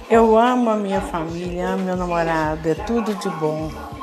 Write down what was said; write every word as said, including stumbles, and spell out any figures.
Eu amo a minha família, amo meu namorado, é tudo de bom.